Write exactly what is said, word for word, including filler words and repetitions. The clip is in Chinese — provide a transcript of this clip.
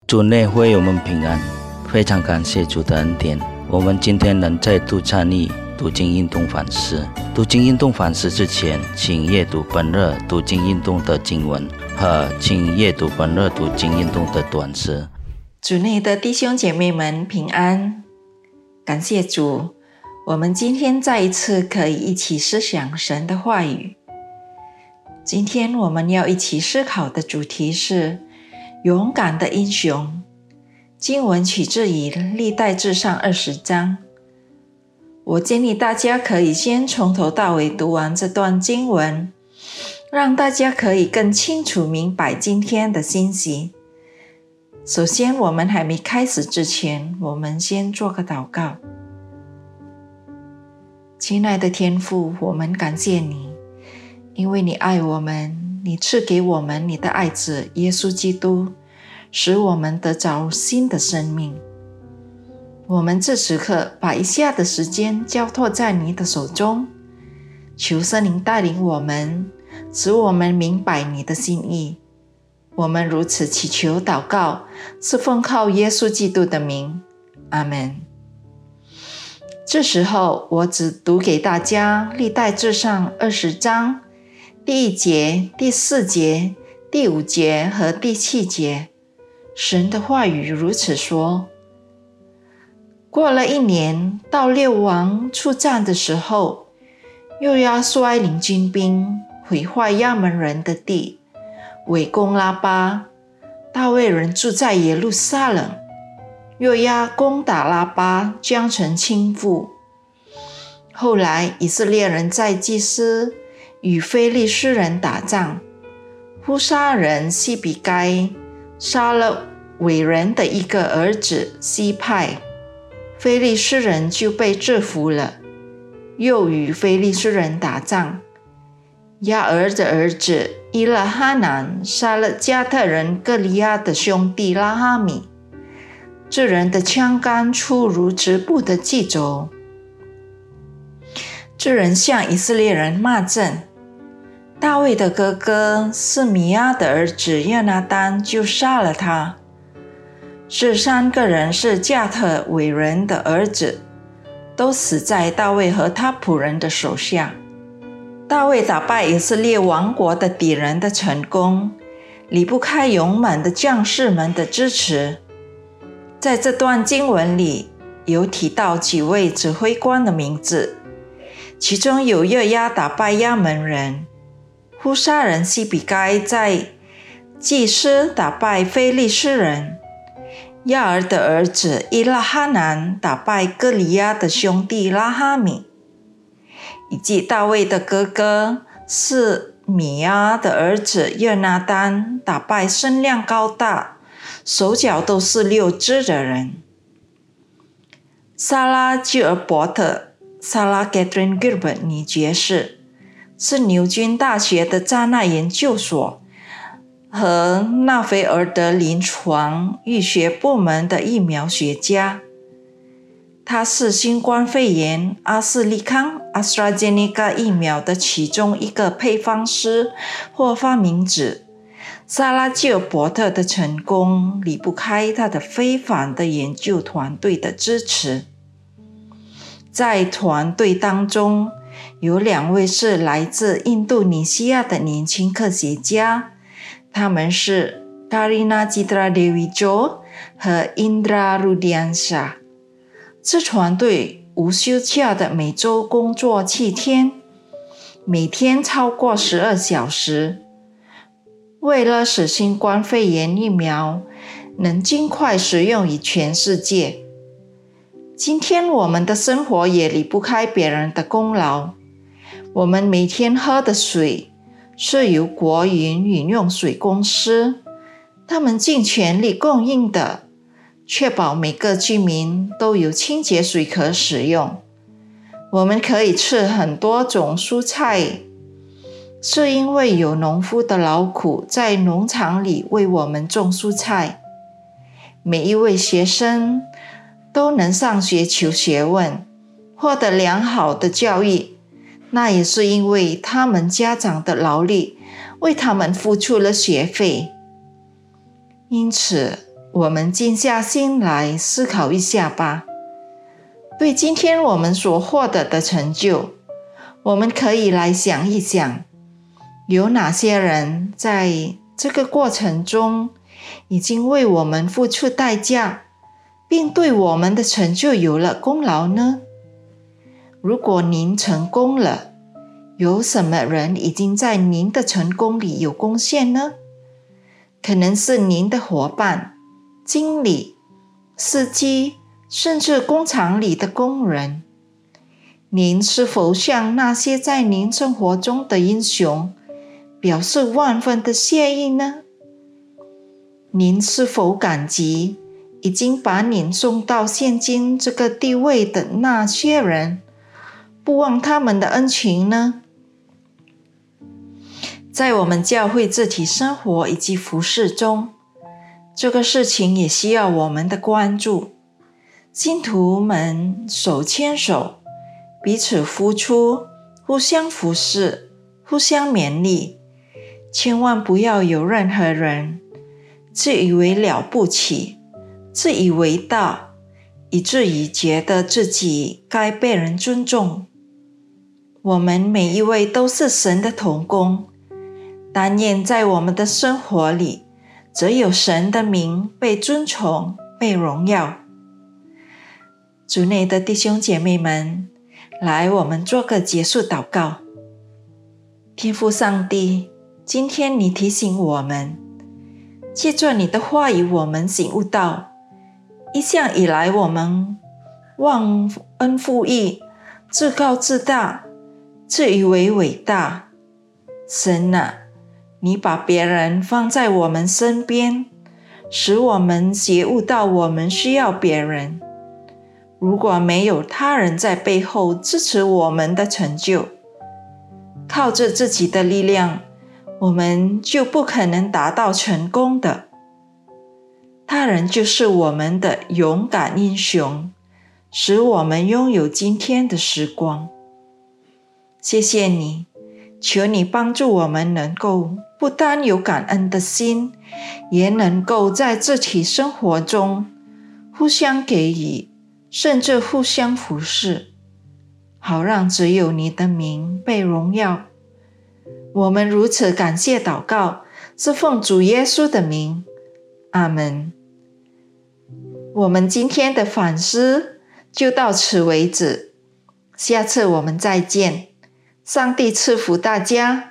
主内会友们平安，非常感谢主的恩典。我们今天能再度参与读经运动反思。读经运动反思之前，请阅读本日读经运动的经文和请阅读本日读经运动的短诗。 主内的弟兄姐妹们平安，感谢主，我们今天再一次可以一起思想神的话语。今天我们要一起思考的主题是勇敢的英雄。经文取自于历代志上二十章。我建议大家可以先从头到尾读完这段经文，让大家可以更清楚明白今天的信息。首先，我们还没开始之前，我们先做个祷告。亲爱的天父，我们感谢你，因为你爱我们，你赐给我们你的爱子耶稣基督，使我们得着新的生命。我们这时刻把以下的时间交托在你的手中，求圣灵带领我们，使我们明白你的心意。我们如此祈求祷告，是奉靠耶稣基督的名，阿们。这时候我只读给大家历代志上二十章第一节、第四节、第五节和第七节。神的话语如此说：过了一年，到列王出战的时候，又要率领军兵毁坏亚扪人的地，围攻拉巴。大卫人住在耶路撒冷，又要攻打拉巴，将城倾覆。后来以色列人在基斯与非利士人打仗，呼沙人西比该杀了伟人的一个儿子西派，非利士人就被制服了。又与非利士人打仗，亚尔的儿子伊勒哈南杀了加特人歌利亚的兄弟拉哈米，这人的枪杆粗如直布的棘轴。这人向以色列人骂阵，大卫的哥哥示米亚的儿子约拿单就杀了他。这三个人是加特伟人的儿子，都死在大卫和他仆人的手下。大卫打败以色列王国的敌人的成功，离不开勇猛的将士们的支持。在这段经文里，有提到几位指挥官的名字，其中有约押打败亚扪人，呼沙人西比该在基斯打败非利士人，亚尔的儿子伊勒哈南打败歌利亚的兄弟拉哈米，以及大卫的哥哥示米亚的儿子约拿单打败身量高大、手脚都是六只的人。萨拉基尔伯特 Sarah Catherine Gilbert 女爵士是牛津大学的扎纳研究所和纳菲尔德临床医学部门的疫苗学家。他是新冠肺炎阿斯利康 AstraZeneca 疫苗的其中一个配方师或发明者。萨拉基尔伯特的成功离不开他的非凡的研究团队的支持。在团队当中，有两位是来自印度尼西亚的年轻科学家，他们是 Karina Citra Dewi Jo 和 Indra Rudiansha。这团队无休假的每周工作七天，每天超过十二小时，为了使新冠肺炎疫苗能尽快使用于全世界。今天我们的生活也离不开别人的功劳。我们每天喝的水是由国营饮用水公司，他们尽全力供应的，确保每个居民都有清洁水可使用。我们可以吃很多种蔬菜，是因为有农夫的劳苦在农场里为我们种蔬菜。每一位学生都能上学求学问，获得良好的教育，那也是因为他们家长的劳力为他们付出了学费。因此我们静下心来思考一下吧。对今天我们所获得的成就，我们可以来想一想，有哪些人在这个过程中已经为我们付出代价，并对我们的成就有了功劳呢？如果您成功了，有什么人已经在您的成功里有贡献呢？可能是您的伙伴、经理、司机，甚至工厂里的工人。您是否向那些在您生活中的英雄表示万分的谢意呢？您是否感激已经把您送到现今这个地位的那些人，不忘他们的恩情呢？在我们教会自体生活以及服事中，这个事情也需要我们的关注。信徒们手牵手，彼此付出，互相服侍，互相勉励，千万不要有任何人自以为了不起，自以为大，以至于觉得自己该被人尊重。我们每一位都是神的同工，但愿在我们的生活里，只有神的名被尊崇、被荣耀。主内的弟兄姐妹们，来，我们做个结束祷告。天父上帝，今天你提醒我们，借着你的话语，我们醒悟到，一向以来我们忘恩负义，自高自大，自以为伟大。神啊，你把别人放在我们身边，使我们觉悟到我们需要别人。如果没有他人在背后支持我们的成就，靠着自己的力量，我们就不可能达到成功的。他人就是我们的勇敢英雄，使我们拥有今天的时光。谢谢你，求你帮助我们能够不单有感恩的心，也能够在自体生活中互相给予，甚至互相服侍，好让只有你的名被荣耀。我们如此感谢祷告，是奉主耶稣的名，阿们。我们今天的反思就到此为止，下次我们再见。上帝赐福大家。